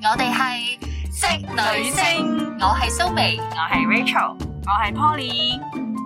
我哋係職女聲，我係蘇眉，我係 Rachel， 我係 Poly。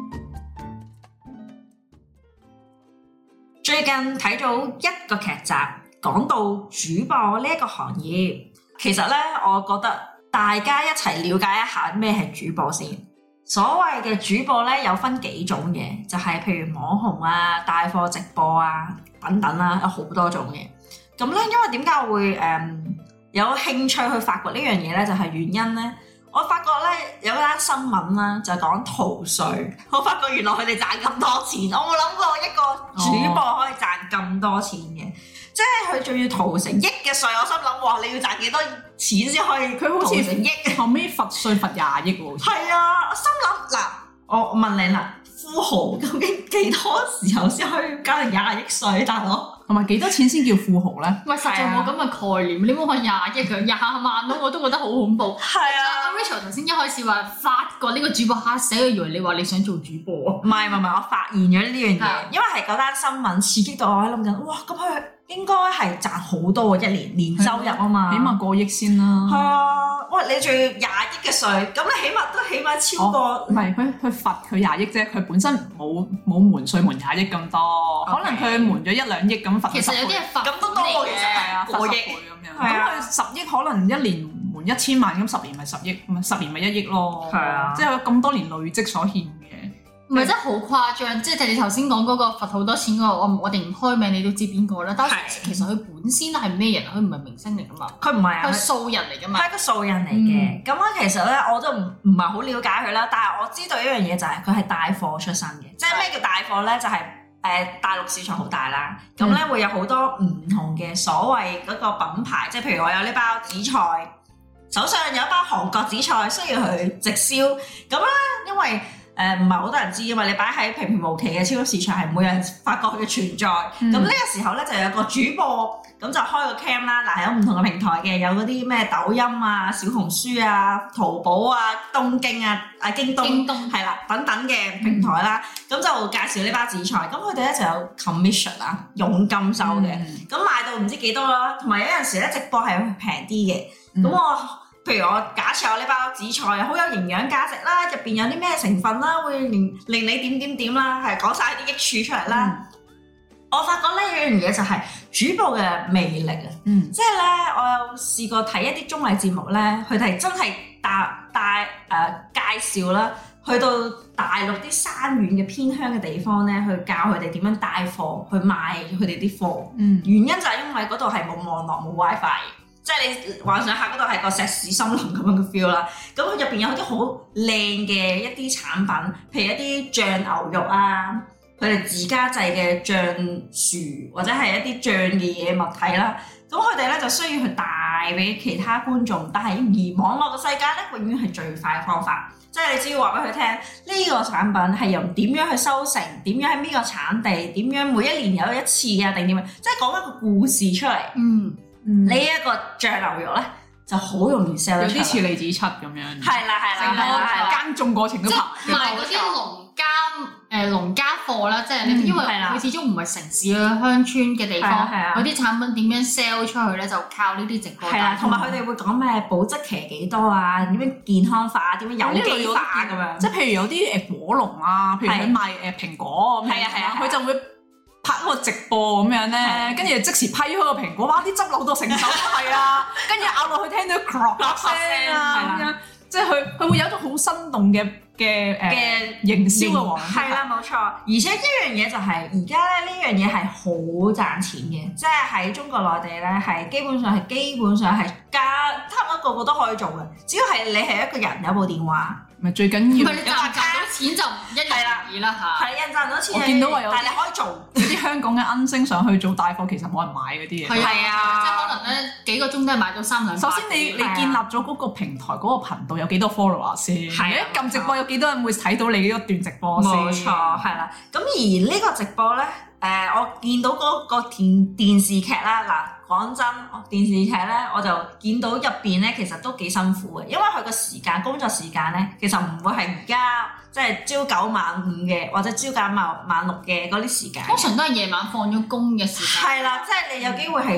最近睇到一個劇集，講到主播呢一個行業，其實咧，我覺得大家一齊了解一下咩係主播先。所謂嘅主播咧，有分幾種嘅，就係譬如網紅啊、帶貨直播啊等等啦，有好多種嘅。咁咧，因為點解我會有興趣去發掘呢樣嘢咧？就係原因咧，我發覺咧有一單新聞啦，就係講逃稅。我發覺原來佢哋賺咁多錢，我冇諗過一個主播可以賺咁多錢嘅，即係佢仲要逃成億嘅稅。我心諗，哇！你要賺幾多錢先可以？佢好似成億， 後尾罰稅罰20億喎。 係啊，我心諗嗱，我問你啦，富豪究竟幾多時候先可以交成20億稅，大佬？ 同埋幾多錢先叫富豪咧？ 喂，實在冇咁嘅概念。你冇話20億佢20萬咯，我都覺得好恐怖。 係啊 ，Rachel 頭先一開始話發覺呢個主播嚇死佢，以為你話你想做主播啊？ 唔係，我發現咗呢樣嘢，因為係嗰單新聞刺激到我喺諗緊，哇！咁佢應該係賺好多喎，一年收入啊嘛， 起碼過億先啦。 係啊，喂！你仲要20億嘅稅，咁你起碼超過。 唔係佢罰佢20億啫，佢本身冇瞞稅瞞20億咁多，可能佢瞞咗1-2億咁罰。 其實有啲係罰咁都多嘅， 係啊，過億咁樣。咁佢10億可能一年瞞1000萬，咁10年咪10億，咁10年咪1億咯。 係啊， 即係有咁多年累積所獻嘅。 唔係真係好誇張，即係你頭先講嗰個罰好多錢嗰個，我哋唔開名你都知邊個啦。但係其實佢本身係咩人？佢唔係明星嚟噶嘛？ 佢唔係啊， 佢素人嚟噶嘛？ 係一個素人嚟嘅。咁其實咧我都唔係好了解佢啦，但係我知道一樣嘢就係佢係帶貨出身嘅。即係咩叫帶貨咧？就係大陸市場好大啦，咁咧會有好多唔同嘅所謂嗰個品牌，即係譬如我有呢包紫菜，手上有一包韓國紫菜需要去直銷，咁咧因為唔係好多人知㗎嘛，你擺喺平平無奇嘅超級市場係冇人發覺佢嘅存在。咁呢個時候咧就有個主播，咁就開個 cam 啦。嗱，有唔同嘅平台嘅，有嗰啲咩抖音啊、小紅書啊、淘寶啊、東京啊、京東係啦等等嘅平台啦。咁就介紹呢包紫菜，咁佢哋咧就有 commission 啊，佣金收嘅。咁賣到唔知幾多啦，同埋有陣時咧直播係平啲嘅。咁譬如我假設我呢包紫菜好有營養價值啦，入邊有啲咩成分啦，會令你點啦，係講晒啲益處出嚟啦。我發覺呢樣嘢就係主播嘅魅力啊！即係咧，我有試過睇一啲綜藝節目咧，佢哋真係介紹啦，去到大陸啲山遠嘅偏鄉嘅地方咧，去教佢哋點樣帶貨，去賣佢哋啲貨。原因就係因為嗰度係冇網絡冇 WiFi。即係你幻想下嗰度係個石屎森林咁樣嘅 feel 啦，咁佢入邊有啲好靚嘅一啲產品，譬如一啲醬牛肉啊，佢哋自家製嘅醬薯或者係一啲醬嘅嘢物體啦，咁佢哋咧就需要去帶俾其他觀眾，但係而網絡嘅世界咧永遠係最快嘅方法，即係你只要話俾佢聽呢個產品係由點樣去收成，點樣喺邊個產地，點樣每一年有一次啊定點樣，即係講一個故事出嚟。呢一個醬牛肉咧就好容易 sell 得出， 有啲似李子柒咁樣。 係啦， 耕種過程都拍。 即係賣嗰啲農家貨啦，即係你因為佢始終唔係城市啊鄉村嘅地方，嗰啲產品點樣 sell 出去咧，就靠呢啲直播。係啦， 同埋佢哋會講咩保質期幾多啊，點樣健康化，點樣有機化咁樣。 即係譬如有啲果農啊，譬如佢賣蘋果咁樣，佢就會拍嗰個直播咁樣咧，跟住即時批開個蘋果，哇！啲汁流到成手都係啊，跟住咬落去聽到 crop 聲啊咁樣，即係佢會有一種好生動嘅營銷嘅喎。 係啦，冇錯。而且一樣嘢就係而家咧呢樣嘢係好賺錢嘅，即係喺中國內地咧係基本上係差唔多個個都可以做嘅，只要係你係一個人有部電話。 咪最緊要， 唔係你賺到錢就一日而已啦嚇。 係人賺到錢， 我見到話有， 但係你可以做有啲香港嘅恩星上去做帶貨，其實冇人買嗰啲嘢。 係啊，即係可能咧幾個鐘都係買到3-2。 首先你建立咗嗰個平台嗰個頻道有幾多 follower 先？係啊，撳直播有幾多人會睇到你呢一段直播先？ 冇錯，係啦。咁而呢個直播咧，我見到嗰個電視劇啦，嗱。講真，電視劇咧，我就見到入邊咧，其實都幾辛苦嘅，因為佢個工作時間咧，其實唔會係而家即係朝9晚5嘅，或者朝9晚6嘅嗰啲時間。 通常都係夜晚放咗工嘅時間。 係啦，即係你有機會係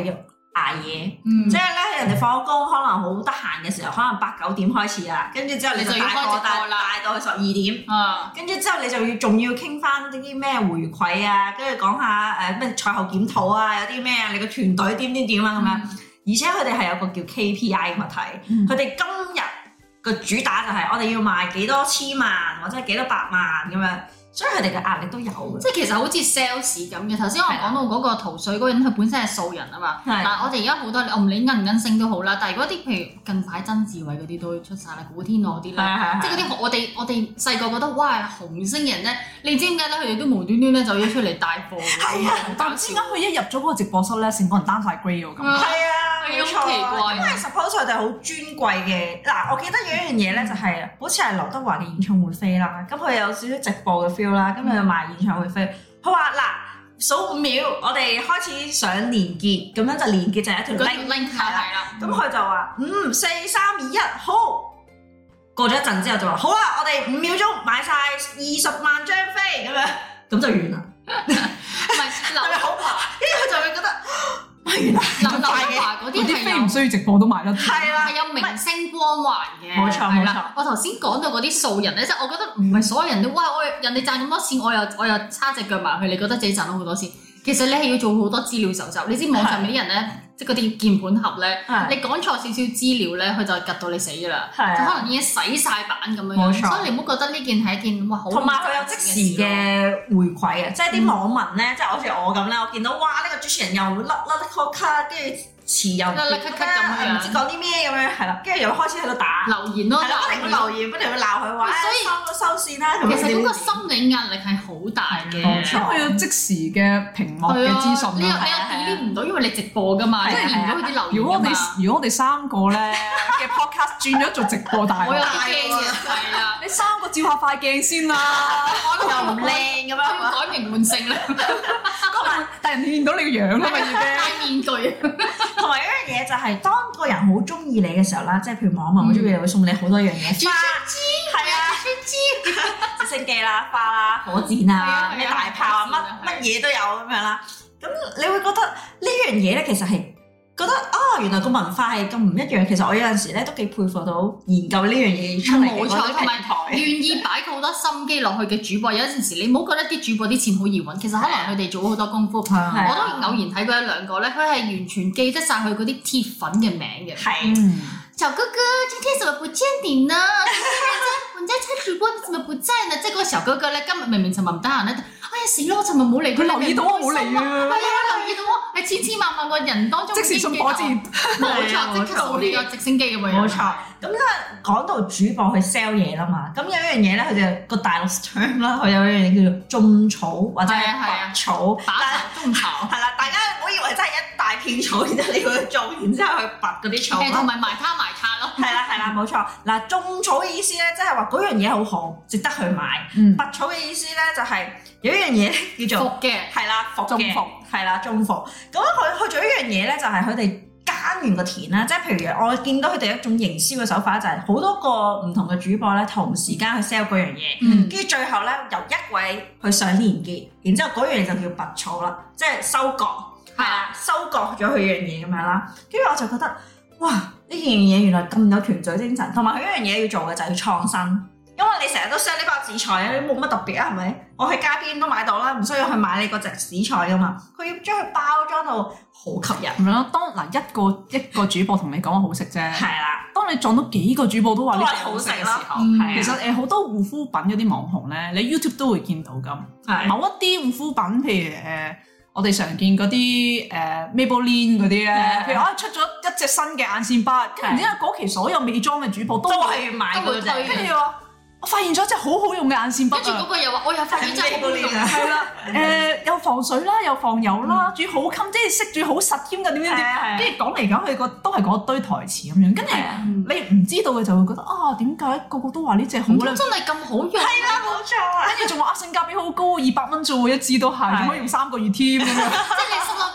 捱夜，即係咧人哋放工可能好得閒嘅時候，可能8、9點開始啊，跟住之後你就帶到去12點，跟住之後你就仲要傾翻啲咩回饋啊，跟住講下咩賽後檢討啊，有啲咩啊，你個團隊點啊咁樣，而且佢哋係有個叫 KPI 嘅問題，佢哋今日個主打就係我哋要賣幾多千萬或者幾多百萬咁樣。所以佢哋嘅壓力都有嘅， 即係其實好似 sales 咁嘅。頭先我講到嗰個逃稅嗰個人，佢本身係素人啊嘛。但係我哋而家好多，我唔理銀星都好啦。但係如果啲譬如近排曾志偉嗰啲都出晒啦，古天樂嗰啲咧，即係嗰啲我哋細個覺得哇紅星人咧，你知點解咧？佢哋都無端端咧就要出嚟帶貨。係啊， 但唔知點解佢一入咗嗰個直播室咧，成個人 down 晒 grade 喎咁。 係啊， 好奇怪。 因為 suppose 佢哋好尊貴嘅。嗱，我記得有一樣嘢咧，就係好似係劉德華嘅演唱會飛啦。咁佢有少少直播嘅 feel 啦，咁佢就賣演唱會飛。佢話嗱，數5秒，我哋開始上連結，咁樣就連結就係一條 link 係啦。咁佢就話5、4、3、2、1，好。過咗一陣之後就話好啦，我哋5秒鐘買晒20萬張飛咁樣，咁就完啦。 唔係劉德華， 跟住佢就會覺得。係啦， 劉德華嗰啲飛唔需要直播都賣得， 係啦， 係有明星光環嘅。 冇錯冇錯。 我頭先講到嗰啲素人咧，即係我覺得唔係所有人都哇，人哋賺咁多錢，我又叉隻腳埋去，你覺得自己賺到好多錢。其實你係要做好多資料搜集。你知網上面啲人咧，即係嗰啲鍵盤俠咧，你講錯少少資料咧，佢就趌到你死㗎啦。就可能已經洗晒版咁樣。冇錯。所以你唔好覺得呢件係一件哇好。同埋佢有即時嘅回饋啊！即係啲網民咧，即係好似我咁咧，我見到哇呢個主持人又甩卡，跟住詞又甩咁樣，唔知講啲咩咁樣，係啦，跟住又開始喺度打留言咯， 不停留言，不停去鬧佢話，所以收線啦。 其實嗰個心理壓力係好大嘅， 因為佢有即時嘅屏幕嘅資訊。 你又 delete 唔到，因為你直播㗎嘛，即係連唔到佢啲留言。 如果我哋3個咧嘅 podcast 轉咗做直播大， 我有啲驚嘅，係啦， 你3個照下塊鏡先啦， 又唔靚咁樣， 要改名換姓啦。 但人見到你個樣啦嘛，已經戴面具。 同埋一樣嘢就係，當個人好中意你嘅時候啦，即係譬如網民好中意你，會送你好多樣嘢，花，係啊，直升機啦、花啦、火箭啊、咩大炮啊，乜嘢都有咁樣啦。咁你會覺得呢樣嘢咧，其實係覺得原來個文化係咁唔一樣。其實我有陣時咧都幾佩服到研究呢樣嘢出嚟嘅嗰啲平台， 願意擺好多心機落去嘅主播。有陣時你唔好覺得啲主播啲錢好易揾，其實可能佢哋做咗好多功夫。我都偶然睇過1-2個咧，佢係完全記得晒佢嗰啲鐵粉嘅名嘅。 係， 小哥哥，今天怎麼不見你呢？人家猜主播，你怎麼不在呢？即係嗰個小哥哥咧，今日明明尋日唔得閒咧，哎呀死咯！我尋日冇嚟，佢留意到我冇嚟啊！ 係啊，留意到我係千千萬萬個人當中， 即時送火箭， 冇錯，即刻送呢個直升機咁樣。 冇錯。咁咧講到主播去 sell 嘢啦嘛，咁有一樣嘢咧，佢就個大陸 term 啦，佢有一樣嘢叫做種草或者係拔草， 拔草種草。係啦，大家唔好以為真係一大片草，然之後你要去種，然之後去拔嗰啲草。 同埋埋卡咯。係啦，冇錯。嗱，種草嘅意思咧，即係話嗰樣嘢好好，值得去買。拔草嘅意思咧，就係有一樣嘢叫做服嘅， 係啦，服嘅，係啦，種服。咁佢做一樣嘢咧，就係佢哋耕完個田啦，即係譬如我見到佢哋一種營銷嘅手法，就係好多個唔同嘅主播咧，同時間去 sell 嗰樣嘢，跟住最後咧由一位去上連結，然之後嗰樣嘢就叫拔草啦，即係收割，係啦，收割咗佢樣嘢咁樣啦。跟住我就覺得，哇！呢樣嘢原來咁有團隊精神，同埋佢一樣嘢要做嘅就係要創新，因為你成日都 sell 呢包紫菜啊，你冇乜特別啊，係咪？我喺街邊都買到啦，唔需要去買你嗰隻紫菜噶嘛。佢要將佢包裝到好吸引咁樣咯。當一個主播同你講話好食啫，係啦。當你撞到幾個主播都話呢隻好食嘅時候，其實好多護膚品嗰啲網紅咧，你 YouTube 都會見到咁。某一啲護膚品，譬如我哋常見嗰啲Maybelline 嗰啲咧，譬如我出咗一隻新嘅眼線筆，跟住然之後嗰期所有美妝嘅主播都係買嗰隻，跟住話我發現咗隻好好用嘅眼線筆， 跟住嗰個又話我又發現真係好好用， 係啦，有防水啦，有防油啦，仲要好襟，即係識住好實添㗎，點樣？跟住講嚟講去都係嗰堆台詞咁樣，跟住你唔知道嘅就會覺得點解個個都話呢隻好咧？ 真係咁好用？ 係啦，冇錯。 跟住仲話性價比好高，200蚊啫喎，一支都係，仲可以用3個月添咁樣。 即係你心諗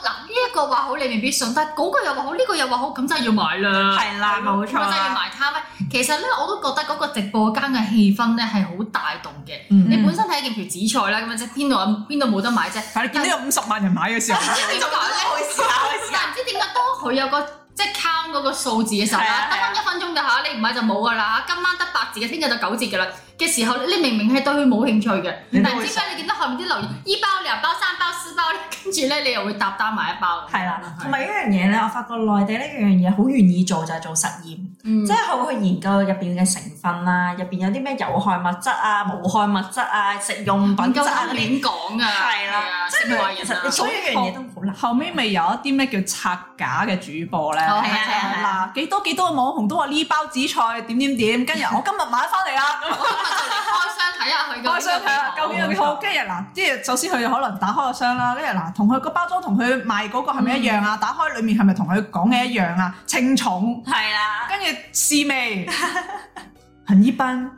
呢一個話好你未必信，但係嗰個又話好，呢個又話好，咁真係要買啦。 係啦，冇錯。 真係要埋攤咩？其實咧，我都覺得嗰個直播間嘅氣氛咧係好帶動嘅。你本身睇一件條紫菜啦，咁樣即係邊度冇得買啫？ 但係你見到有50萬人買嘅時候， 點解咧？但係唔知點解當佢有個即係 count 嗰個數字嘅時候啦，得翻1分鐘㗎嚇，你唔買就冇㗎啦嚇。今晚得8折嘅，聽日就9折㗎啦嘅時候，你明明係對佢冇興趣嘅，但係唔知點解你見到後面啲留言1包2包3包4包咧，跟住咧你又會搭單買1包。 係啦，同埋一樣嘢咧，我發覺內地呢樣嘢好願意做就係做實驗，即係佢會去研究入邊嘅成分啦，入邊有啲咩有害物質啊、無害物質啊、食用品質啊嗰啲。 亂講啊！ 係啦，即係其實你做一樣嘢都好難。 後尾咪有一啲咩叫拆假嘅主播咧？ 係啊， 嗱幾多個網紅都話呢包紫菜點，跟住我今日買翻嚟啦。 開箱睇下佢， 開箱睇下究竟有幾好。跟住嗱，即係首先佢可能打開個箱啦，跟住嗱，同佢個包裝同佢賣嗰個係咪一樣啊？打開裡面係咪同佢講嘅一樣啊？稱重係啦， 跟住試味，很一般，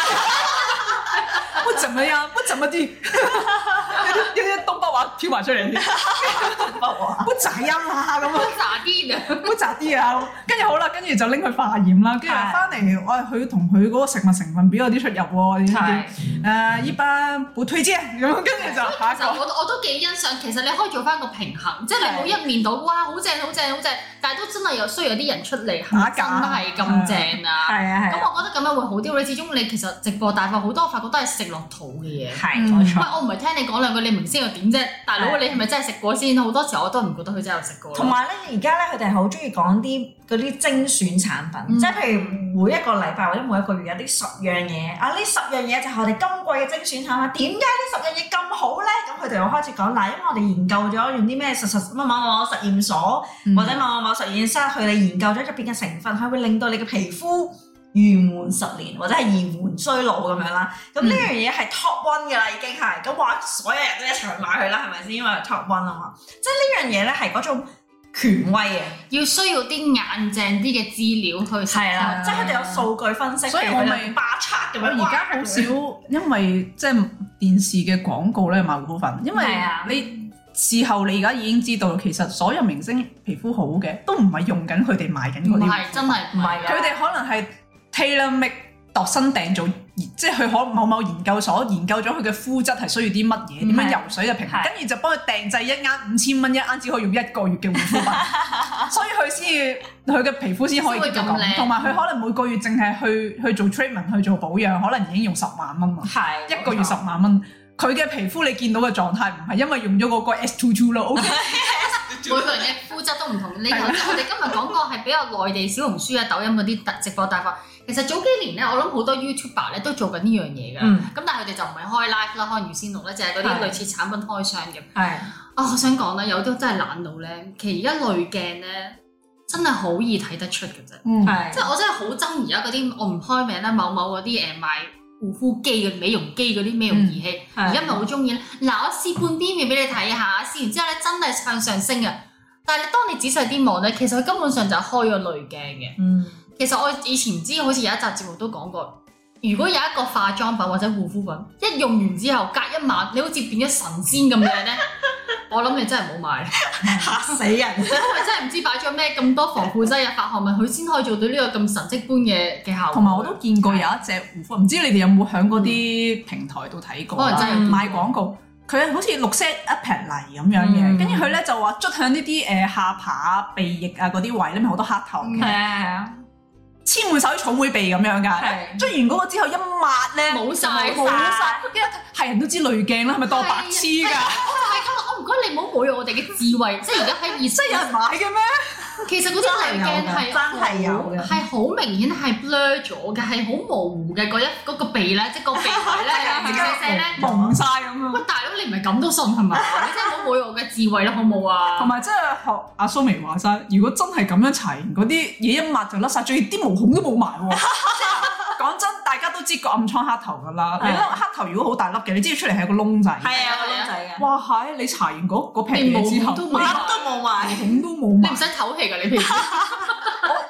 不怎麼樣，不怎麼地，有啲東北話飄埋出嚟，東北話不咋樣啦咁啊， 渣啲啊， 不咋啲啊，跟住好啦，跟住就拎去化驗啦，跟住翻嚟，我佢同佢嗰個食物成分表有啲出入喎，點一般不推薦咁，跟住就下一個。 我都幾欣賞，其實你可以做翻個平衡，即係你冇一面倒，哇好正好正好正，但係都真係有需要有啲人出嚟係真係咁正啊！ 係啊， 咁我覺得咁樣會好啲。你始終你其實直播大法好多，我發覺都係食落肚嘅嘢。 係冇錯。 喂，我唔係聽你講兩句，你明星又點啫？大佬你係咪真係食過先？好多時候我都唔覺得佢真係有食過。 同埋咧，而家咧佢哋係好中意講啲嗰啲精選產品，即係譬如每一個禮拜或者每一個月有啲10樣嘢啊，呢10樣嘢就係我哋今季嘅精選產品。點解呢10樣嘢咁好咧？咁佢哋又開始講嗱，因為我哋研究咗用啲咩某某實驗所或者某實驗室，佢哋研究咗入邊嘅成分，係會令到你嘅皮膚延緩10年或者係延緩衰老咁樣啦。咁呢樣嘢係 top one 嘅啦，已經係咁話，所有人都一齊去買佢啦，係咪先？因為 top one 啊嘛，即係呢樣嘢咧係嗰種權威嘅， 要需要啲硬淨啲嘅資料去係啦，即係佢哋有數據分析， 所以我咪巴測咁樣。 我而家好少，因為即係電視嘅廣告咧賣護膚品，因為你事後你而家已經知道，其實所有明星皮膚好嘅都唔係用緊佢哋賣緊嗰啲， 唔係真係唔係， 佢哋可能係 tailor make 度身訂做，即係佢可某研究所研究咗佢嘅膚質係需要啲乜嘢，點樣游水嘅平衡，跟住就幫佢訂製一啱5000蚊一啱，只可以用1個月嘅護膚品，所以佢嘅皮膚先可以咁靚，同埋佢可能每個月淨係去做 treatment 去做保養，可能已經用10萬蚊喎，一個月10萬蚊。佢嘅皮膚你見到嘅狀態唔係因為用咗嗰個 S22 咯，OK？ 每個人嘅膚質都唔同。你頭先我哋今日講過係比較內地小紅書啊、抖音嗰啲直播大法。其實早幾年咧，我諗好多 YouTuber 咧都做緊呢樣嘢㗎。咁但係佢哋就唔係開 live 啦，可能預先錄咧，就係嗰啲類似產品開箱嘅。係我想講咧，有啲真係懶到咧，其實而家濾鏡咧真係好易睇得出嘅啫。即係我真係好憎而家嗰啲，我唔開名啦，某啲賣護膚機嘅美容機嗰啲美容儀器，而家咪好中意咧。嗱，我試半邊面俾你睇下，試完之後咧真係向上升嘅。但係當你仔細啲望咧，其實佢根本上就係開咗濾鏡嘅。其實我以前唔知，好似有一集節目都講過，如果有一個化妝品或者護膚品，一用完之後隔1晚，你好似變咗神仙咁樣咧，我諗你真係唔好買， 嚇死人！ 因為真係唔知擺咗咩咁多防腐劑啊、化學物，佢先可以做到呢個咁神蹟般嘅效果。同埋我都見過有一隻護膚，唔知你哋有冇喺嗰啲平台度睇過？可能真係賣廣告，佢好似綠色一撇泥咁樣嘅，跟住佢咧就話捽向呢啲下巴啊、鼻翼啊嗰啲位咧，咪好多黑頭嘅。係啊。黐滿手啲草莓鼻咁樣㗎，捽完嗰個之後一抹咧冇晒，跟住係人都知濾鏡啦，係咪當白痴㗎？我唔該你唔好侮辱我哋嘅智慧，即係而家喺真係有人買嘅咩？其實嗰啲濾鏡係真係有嘅，係好明顯係 blur 咗嘅，係好模糊嘅嗰個鼻咧，即係個鼻位咧，零舍舍咧蒙晒咁樣。喂，大佬你唔係咁都信係咪？你真係唔好侮辱我嘅智慧啦，好冇啊？同埋即係學阿蘇眉話齋，如果真係咁樣搽完嗰啲嘢一抹就甩晒，仲要啲毛孔都冇埋喎。講真，大家都知個暗瘡黑頭㗎啦。你粒黑頭如果好大粒嘅，你知道出嚟係個窿仔。係啊，個窿仔嘅。哇係！你搽完嗰皮嘢之後，毛孔都冇埋，毛孔都冇埋。你唔使唞氣㗎，你皮膚。我懷疑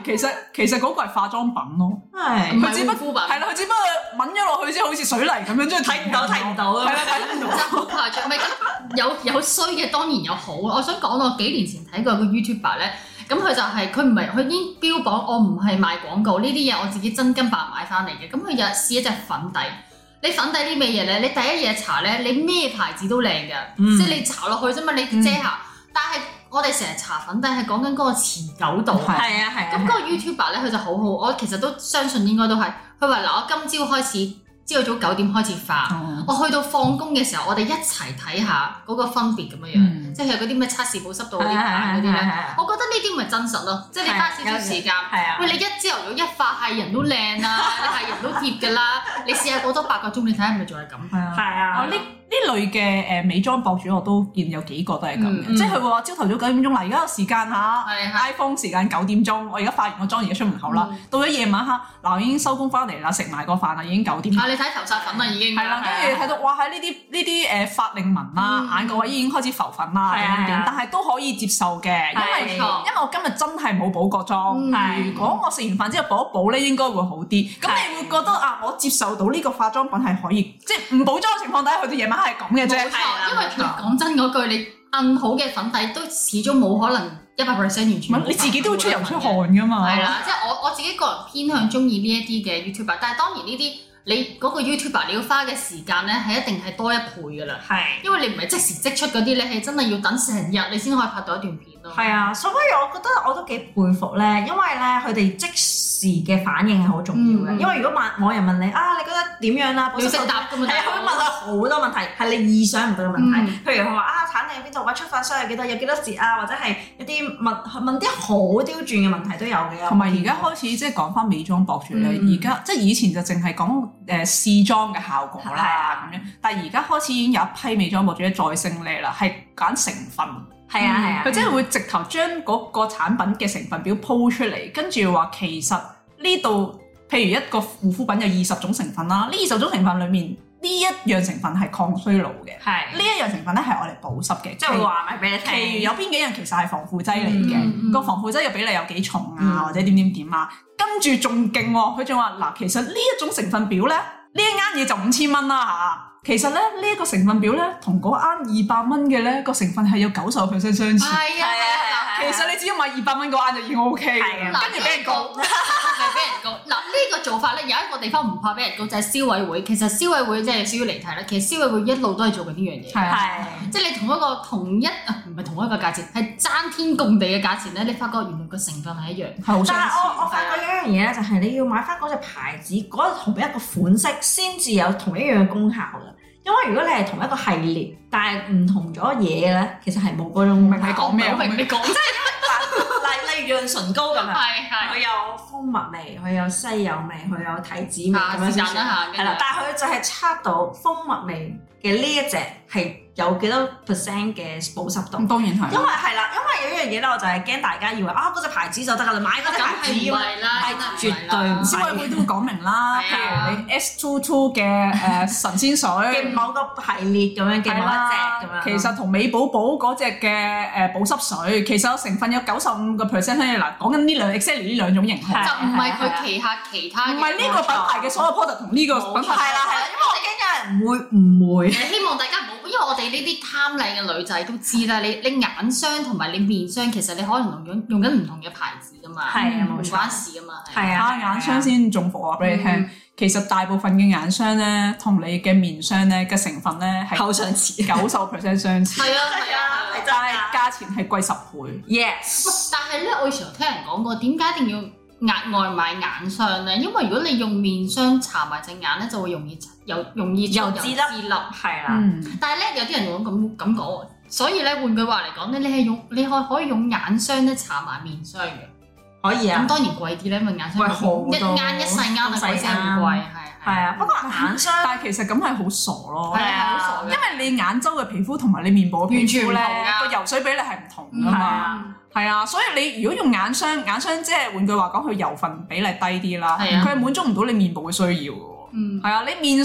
其實嗰個係化妝品咯， 係唔佢只不係護膚品。 係啦，佢只不過抿咗落去之後好似水泥咁樣，即係睇唔到睇唔到係啦，睇唔到。 真係好誇張，唔係咁有衰嘅當然有好。我想講我幾年前睇過個 YouTuber 咧，咁佢就係佢唔係佢已經標榜我唔係賣廣告呢啲嘢，我自己真金白買翻嚟嘅。咁佢又試一隻粉底，你粉底啲咩嘢咧？你第一嘢搽咧，你咩牌子都靚嘅，即係你搽落去啫嘛，你遮瑕。但係我哋成日搽粉底係講緊嗰個持久度， 係啊。 咁嗰個 YouTuber 咧佢就好好，我其實都相信應該都係。佢話嗱，我今朝開始。朝早9點開始化，我去到放工嘅時候，我哋一齊睇下嗰個分別咁樣，即係嗰啲咩測試保濕度嗰啲牌嗰啲咧。我覺得呢啲咪真實咯，即係你花少少時間。喂，你一朝頭早一化係人都靚啦，你係人都貼㗎啦。你試下過多8個鐘，你睇下係咪仲係咁？ 係啊。 呢類嘅美妝博主我都見有幾個都係咁嘅，即係佢會話朝頭早9點鐘嗱，而家個時間嚇 iPhone 時間9點鐘，我而家化完個妝而家出門口啦，到咗夜晚黑嗱，我已經收工翻嚟啦，食埋個飯啦，已經9點。 你睇頭髮粉啦已經。 係啦，跟住睇到哇喺呢啲髮令紋啦，眼角位已經開始浮粉啦，但係都可以接受嘅，因為我今日真係冇補過妝，如果我食完飯之後補一補咧，應該會好啲。咁你會覺得啊，我接受到呢個化妝品係可以，即係唔補妝嘅情況底下，去到夜晚黑係咁嘅啫。 冇錯，因為講真嗰句，你按好嘅粉底都始終冇可能100% 完全。 你自己都會出油出汗㗎嘛。 係啦，即係我自己個人偏向中意呢一啲嘅 YouTuber，但係當然呢啲。你嗰個 YouTuber 你要花嘅時間咧係一定係多1倍㗎啦，因為你唔係即時即出嗰啲，你係真係要等成日你先可以拍到一段片咯。 係啊，所以我覺得我都幾佩服咧，因為咧佢哋即時嘅反應係好重要嘅。因為如果網人問你啊，你覺得點樣啊？ 要識答㗎嘛， 係佢問到好多問題，係你意想唔到嘅問題。譬如佢話啊，產地喺邊度？出發商有幾多？有幾多折啊？或者係一啲問啲好刁鑽嘅問題都有嘅。 同埋而家開始即係講翻美妝博主咧，而家即係以前就淨係講試妝嘅效果啦咁樣，但係而家開始已經有一批美妝博主再勝利啦，係揀成分。 係啊， 佢真係會直頭將嗰個產品嘅成分表鋪出嚟，跟住話其實呢度譬如一個護膚品有20種成分啦，呢20種成分裡面呢一樣成分係抗衰老嘅，呢一樣成分咧係我哋保濕嘅， 即係會話埋俾你聽。 其餘有邊幾樣其實係防腐劑嚟嘅，個防腐劑嘅比例有幾重啊，或者點啊，跟住仲勁喎，佢仲話嗱，其實呢一種成分表咧，呢一啱嘢就5000蚊啦嚇。其實咧呢一個成分表咧，同嗰啱200蚊嘅咧個成分係有90%相似。 係啊， 其實你只要買200蚊嗰啱就已經 OK 嘅，跟住俾人告。 俾人告嗱，呢個做法咧有一個地方唔怕俾人告，就係消委會。其實消委會即係少少離題啦。其實消委會一路都係做緊呢樣嘢，即係你同一個價錢，係爭天共地嘅價錢咧，你發覺原來個成分係一樣。 但係我發覺有一樣嘢咧，就係你要買翻嗰隻牌子嗰同一個款式，先至有同一樣嘅功效㗎。因為如果你係同一個系列，但係唔同咗嘢咧，其實係冇嗰種。 明你講咩？ 明你講。 例如潤唇膏咁樣， 係佢有蜂蜜味，佢有西柚味，佢有提子味咁樣先算。係啦，但係佢就係測到蜂蜜味嘅呢一隻係有幾多% 嘅保濕度。 當然係。 因為係啦，因為有一樣嘢咧，我就係驚大家以為啊嗰隻牌子就得㗎啦，買嗰隻牌子係絕對唔係。 消委會都會講明啦，譬如你 S22 嘅神仙水嘅某個系列咁樣嘅某一隻咁樣。 其實同美寶寶嗰隻嘅保濕水，其實成分有95%咧。嗱，講緊呢兩 exactly 呢兩種型號， 就唔係佢旗下其他。 唔係呢個品牌嘅所有 product 同呢個品牌。 係啦，因為我驚有人會誤會。 希望大家唔好，因為我哋呢啲貪靚嘅女仔都知啦。你眼霜同埋你面霜，其實你可能用緊唔同嘅牌子噶嘛，唔關事噶嘛。 係啊， 眼霜先中伏話俾你聽。其實大部分嘅眼霜咧，同你嘅面霜咧嘅成分咧係好相似 ，90%相似。 係啊， 但係價錢係貴10倍。 Yes。 但係咧，我以前聽人講過，點解一定要額外買眼霜咧？因為如果你用面霜搽埋隻眼咧，就會容易有脂粒。 係啦。 但係咧，有啲人會咁講喎，所以咧換句話嚟講咧，你可以用眼霜咧搽埋面霜嘅。 可以啊， 咁當然貴啲咧，因為眼霜貴好多， 一細啱啊，鬼死咁貴，係啊。不過眼霜， 但係其實咁係好傻咯， 係啊，好傻嘅， 因為你眼周嘅皮膚同埋你面部嘅皮膚咧，個油水比例係唔同㗎嘛，係啊，所以你如果用眼霜即係換句話講，佢油分比例低啲啦，佢係滿足唔到你面部嘅需要㗎喎，係啊，你面霜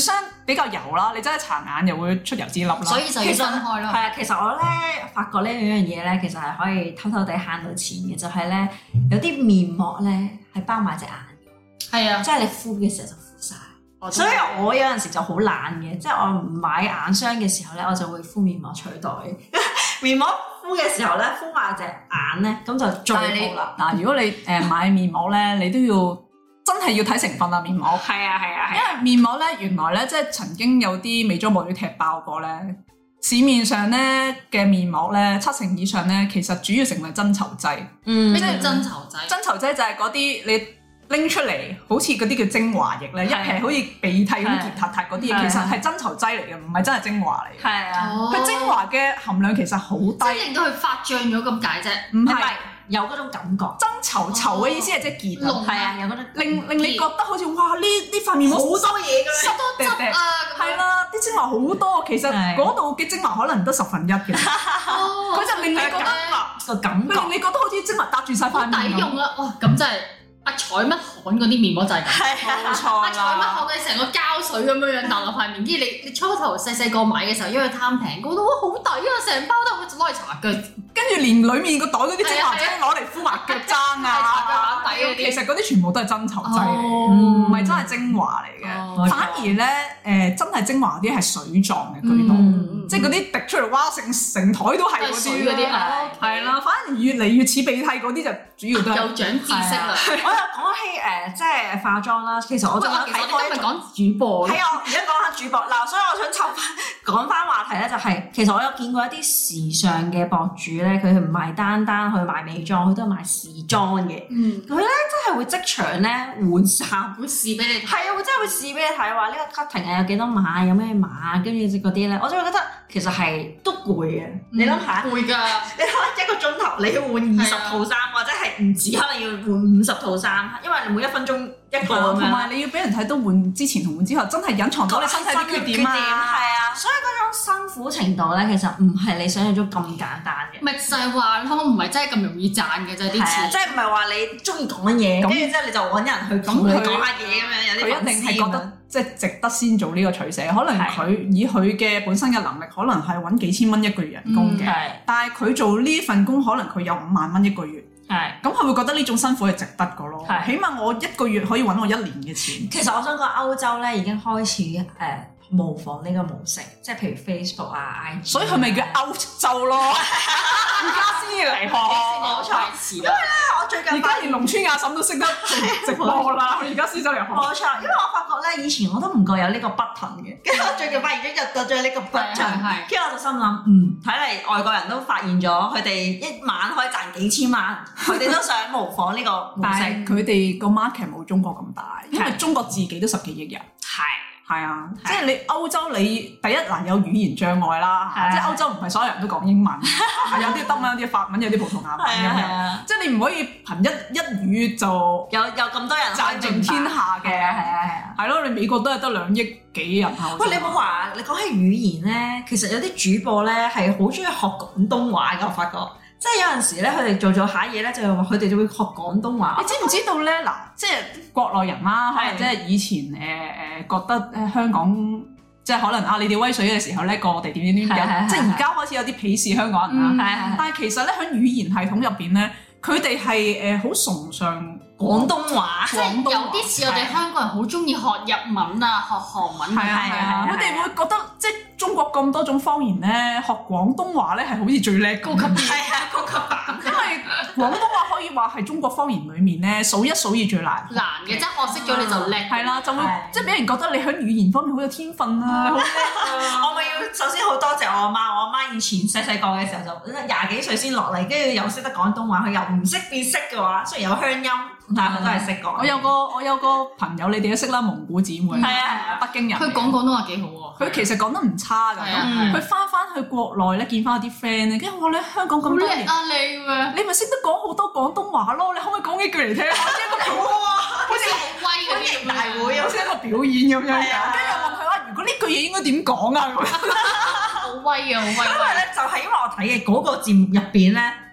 比較油啦，你真係搽眼又會出油脂粒啦。 所以就要分開咯。 係啊，其實我咧發覺呢樣嘢咧，其實係可以偷偷地慳到錢嘅，就係咧有啲面膜咧係包埋隻眼。 係啊， 即係你敷嘅時候就敷晒。所以我有陣時就好懶嘅，即係我唔買眼霜嘅時候咧，我就會敷面膜取代。面膜敷嘅時候咧，敷埋隻眼咧，咁就最好啦。 嗱，如果你買面膜咧，你都要真係要睇成分啊，面膜。 係啊， 因為面膜咧，原來咧即係曾經有啲美妝博主踢爆過咧，市面上咧嘅面膜咧70%以上咧，其實主要成分係增稠劑。 咩叫增稠劑？ 增稠劑就係嗰啲你拎出嚟好似嗰啲叫精華液咧，一撇好似鼻涕咁結塌塌嗰啲嘢，其實係增稠劑嚟嘅，唔係真係精華嚟嘅。 係啊， 佢精華嘅含量其實好低， 即係令到佢發脹咗咁解啫。 唔係有嗰種感覺。 增稠嘅意思係即係結， 係啊，有嗰種令你覺得好似哇呢塊面膜好多嘢㗎， 好多汁啊！ 係啦，啲精華好多，其實嗰度嘅精華可能得1/10嘅，佢就令你覺得個感覺， 令你覺得好似精華搭住晒塊面咁。 抵用啦！哇，咁真係〜阿彩乜汗嗰啲面膜就係咁， 冇錯阿彩乜汗嘅成個膠水咁樣搭落塊面，跟住你初頭細個買嘅時候，因為貪平，覺得哇好抵啊！成包都攞嚟搽腳， 跟住連裡面個袋嗰啲精華劑攞嚟敷埋腳踭啊，其實嗰啲全部都係增稠劑嚟嘅，唔係真係精華嚟嘅。反而咧真係精華啲係水狀嘅居多，即係嗰啲滴出嚟哇成台都係嗰啲啊， 係啦。反而越嚟越似鼻涕嗰啲就主要都係又長知識啦。 我又講起即係化妝啦，其實我仲有睇過。 今日講主播。 係啊，而家講下主播嗱，所以我想講翻話題咧，就係其實我有見過一啲時尚嘅博主咧，佢唔係單單去賣美妝，佢都係賣時裝嘅。佢咧真係會即場咧換衫， 會試俾你睇。 係啊，會真係會試俾你睇，話呢個 cutting 係有幾多碼，有咩碼，跟住嗰啲咧，我就會覺得其實係都攰嘅。你諗下， 攰㗎。 你可能一個鐘頭你要換20套衫，或者係唔止，可能要換50套衫，因為你每1分鐘一個咁樣。同埋你要俾人睇到換之前同換之後，真係隱藏咗你身體啲缺點啊！ 係啊，所以嗰種辛苦程度咧，其實唔係你想象中咁簡單嘅。 咪就係話咯，唔係真係咁容易賺嘅啫，啲錢。 即係唔係話你中意講嘢，跟住之後你就揾人去同你講下嘢咁樣，有啲佢一定係覺得即係值得先做呢個取捨。可能佢以佢嘅本身嘅能力，可能係揾幾千蚊一個月人工嘅，但係佢做呢份工，可能佢有5萬蚊一個月。咁佢會覺得呢種辛苦係值得嘅咯。起碼我1個月可以揾我1年嘅錢。 其實我想講歐洲咧已經開始模仿呢個模式，即係譬如 Facebook 啊、IG， 所以佢咪叫歐洲咯。而家先嚟學， 冇錯。因為咧，我最近而家連農村阿嬸都識得直播啦。佢而家先走嚟學。 冇錯，因為我發覺咧，以前我都唔覺有呢個 button 嘅，跟住我最近發現咗入咗呢個 button，跟住我就心諗，睇嚟外國人都發現咗，佢哋一晚可以賺幾千萬，佢哋都想模仿呢個模式。 但係佢哋個 market 冇中國咁大，因為中國自己都10幾億人。係啊，即係你歐洲你第一嗱有語言障礙啦，即係歐洲唔係所有人都講英文，有啲德文、有啲法文、有啲葡萄牙文咁樣，即係你唔可以憑一語就有咁多人賺盡天下嘅，係咯，你美國都係得2億幾人口。 喂，你冇話你講起語言咧，其實有啲主播咧係好中意學廣東話㗎，我發覺。即係有陣時咧，佢哋做下嘢咧，就係話佢哋就會學廣東話。 你知唔知道咧？嗱，即係國內人啦，可能即係以前覺得香港即係可能你哋威水嘅時候咧，過我哋點，即係而家開始有啲鄙視香港人啦。但係其實咧，喺語言系統入邊咧，佢哋係好崇尚廣東話， 即係有啲似我哋香港人好中意學日文啊、學韓文啊。 佢哋會覺得即係中國咁多種方言咧，學廣東話咧係好似最叻高級啲。 高級版。 因為廣東話可以話係中國方言裡面咧數1數2最難嘅，即係學識咗你就叻。係啦，就會即係俾人覺得你喺語言方面好有天分啊，好叻啊！ 我咪要首先好多謝我阿媽，我阿媽以前細個嘅時候就20幾歲先落嚟，跟住又識得廣東話，佢又唔識變識嘅話，雖然有鄉音，但係佢都係識講。我有個朋友，你哋都識啦，蒙古姊妹，北京人， 佢講廣東話幾好喎。 佢其實講得唔差㗎，佢翻去國內咧見翻啲 friend 咧，跟住我話你香港咁多年，你咪識得講好多廣東話咯，你可唔可以講幾句嚟聽下？好似好威嗰啲大會， 好似一個表演咁樣。跟住我問佢話：如果呢句嘢應該點講啊？ 好威啊！好威！因為咧就係因為我睇嘅嗰個節目入邊咧，咁啱佢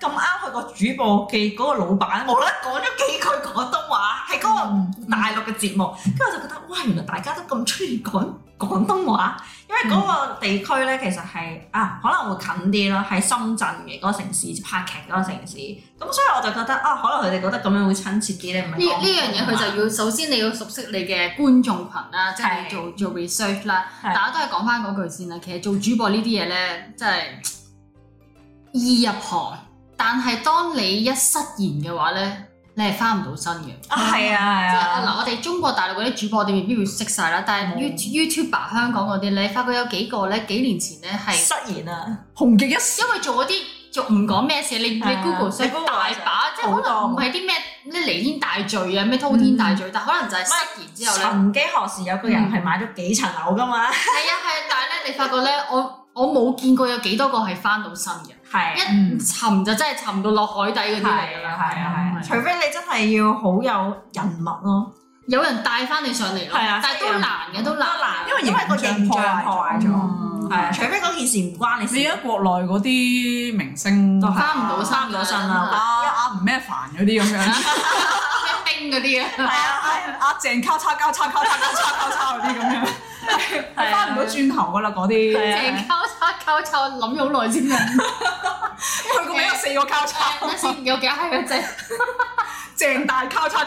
佢個主播嘅嗰個老闆無啦啦講咗幾句廣東話，係嗰個大陸嘅節目，跟住我就覺得哇，原來大家都咁中意講廣東話，因為嗰個地區咧其實係可能會近啲咯，喺深圳嘅嗰個城市拍劇嗰個城市，咁所以我就覺得可能佢哋覺得咁樣會親切啲咧，唔係呢樣嘢佢就要首先你要熟悉你嘅觀眾群啦，即係你做 research 啦，大家都係講翻嗰句先啦。其實做主播呢啲嘢咧，真係易入行，但係當你一失言嘅話咧，你係翻唔到身嘅。 係啊， 即係嗱，我哋中國大陸嗰啲主播，我哋未必會識晒啦。但係 YouTuber 香港嗰啲咧，發覺有幾個咧，幾年前咧係失言啊， 紅極一時， 因為做嗰啲做唔講咩事，你 Google 所以大把，即係可能唔係啲咩彌天大罪啊，咩滔天大罪，但可能就係失言之後咧。 曾幾何時有個人係買咗幾層樓噶嘛？係啊，但係咧，你發覺咧，我冇見過有幾多個係翻到身嘅。係一沉就真係沉到落海底嗰啲嚟㗎啦。係啊，除非你真係要好有人脈咯，有人帶翻你上嚟咯。係啊，但係都難嘅，都難，因為個形象破壞咗。係啊，除非嗰件事唔關你事。 你而家國內嗰啲明星都翻唔到身啦， 阿吳咩凡嗰啲咁樣， 咩冰嗰啲啊， 係啊，阿鄭交叉交叉交叉交叉交叉嗰啲咁樣。翻唔到轉頭噶啦嗰啲， 鄭交叉，我諗咗好耐先嘅。 佢個名有4個交叉， 先有幾下嘅啫。 鄭大交叉。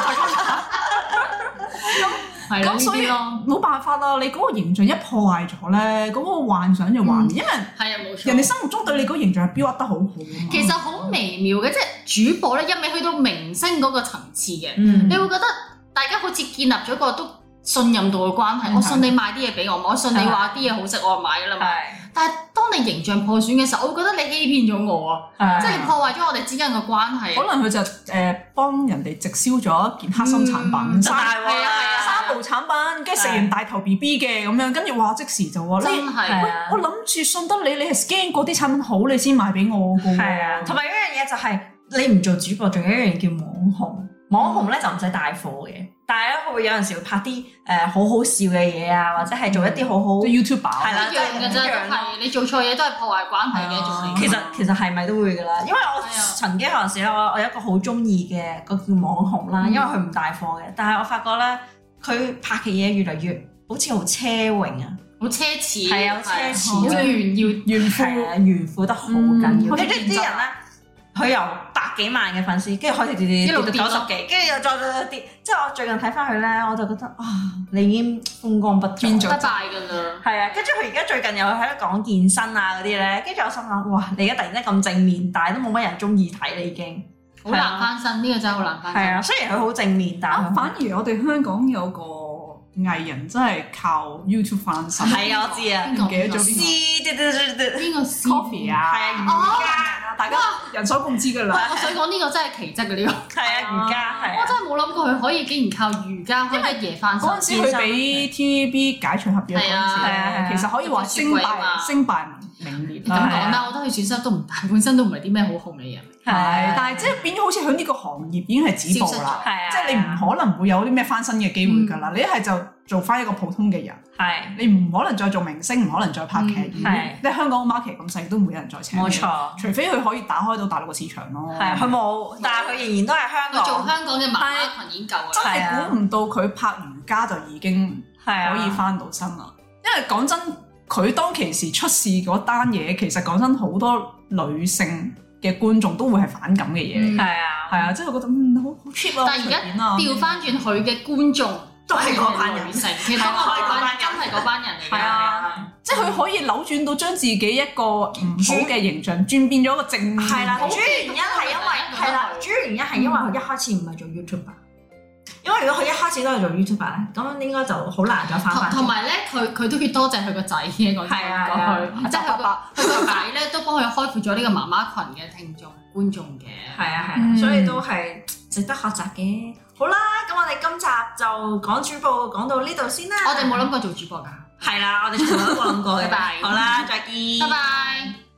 咁所以冇辦法啦，你嗰個形象一破壞咗咧，嗰個幻想就幻滅，因為係啊冇錯， 人哋心目中對你嗰個形象係標得好好啊嘛。 其實好微妙嘅，即係主播咧一味去到明星嗰個層次嘅，你會覺得大家好似建立咗個都信任度嘅關係，我信你買啲嘢俾我信你話啲嘢好食，我就買㗎啦嘛。但係當你形象破損嘅時候，我會覺得你欺騙咗我啊！即係你破壞咗我哋之間嘅關係。 可能佢就幫人哋直銷咗一件黑心產品，三無產品，跟住食完大頭 BB 嘅咁樣，跟住話即時就話真係，我諗住信得你係 scan 嗰啲產品好，你先賣俾我㗎喎。係啊， 同埋一樣嘢就係你唔做主播，仲有一樣嘢叫網紅。網紅咧就唔使帶貨嘅，但係咧佢會有陣時會拍啲好好笑嘅嘢啊，或者係做一啲好好 YouTuber 係啦， 一樣嘅啫，係你做錯嘢都係破壞關係嘅一種嚟。 其實係咪都會㗎啦？因為我曾經有陣時咧，我有一個好中意嘅個叫網紅啦，因為佢唔帶貨嘅，但係我發覺咧佢拍嘅嘢越嚟越好似好奢榮啊， 好奢侈， 係啊，好奢侈， 炫富得好緊要。跟住啲人咧。佢由100幾萬嘅粉絲，跟住開始跌到90幾，跟住又再跌。即係我最近睇翻佢咧，我就覺得你已經風光不再， 變咗失敗㗎啦。 係啊，跟住佢而家最近又喺度講健身啊嗰啲咧，跟住我心諗哇，你而家突然間咁正面，但係都冇乜人中意睇你已經好難翻身，呢個真係好難翻身。 係啊，雖然佢好正面，但係反而我哋香港有個藝人真係靠 YouTube 翻身。 係啊，我知啊， 唔記得咗邊個 Coffee 啊？ 係啊，瑜伽。 大家人所共知㗎啦。 我想講呢個真係奇蹟嘅呢個。 係啊，瑜伽係。 我真係冇諗過佢可以竟然靠瑜伽可以一夜翻身。 嗰陣時佢俾 TVB 解除合約嗰陣時，其實可以話升敗名裂。 咁講啦，我覺得佢損失都唔大，本身都唔係啲咩好紅嘅人。 係，但係即係變咗好似喺呢個行業已經係止步啦。即係你唔可能會有啲咩翻身嘅機會㗎啦。你一係就做翻一個普通嘅人。係，你唔可能再做明星，唔可能再拍劇。係，即係香港 market 咁細，都冇人再請。冇錯，除非佢可以打開到大陸嘅市場咯。係，佢冇，但係佢仍然都係香港。 做香港嘅媽媽群已經夠啦。 真係估唔到佢拍瑜伽就已經可以翻到身啦。因為講真，佢當其時出事嗰單嘢，其實講真好多女性嘅觀眾都會係反感嘅嘢嚟。係啊，即係覺得好 cheap 啊。 但係而家調翻轉佢嘅觀眾。都係嗰班人，其實真係嗰班人嚟嘅。係啊， 即係佢可以扭轉到將自己一個唔好嘅形象轉變咗一個正面。 係啦，主要原因係因為佢一開始唔係做 YouTuber。因為如果佢一開始都係做 YouTuber 咧，咁應該就好難再翻返。 同埋咧，佢都要多謝佢個仔嘅講句，即係佢個仔咧都幫佢開闊咗呢個媽媽群嘅聽眾觀眾嘅。 係啊，所以都係值得學習嘅。好啦，咁我哋今集就講主播講到呢度先啦。 我哋冇諗過做主播㗎。 係啦，我哋從來都冇諗過嘅。拜拜。好啦，再見。 拜拜。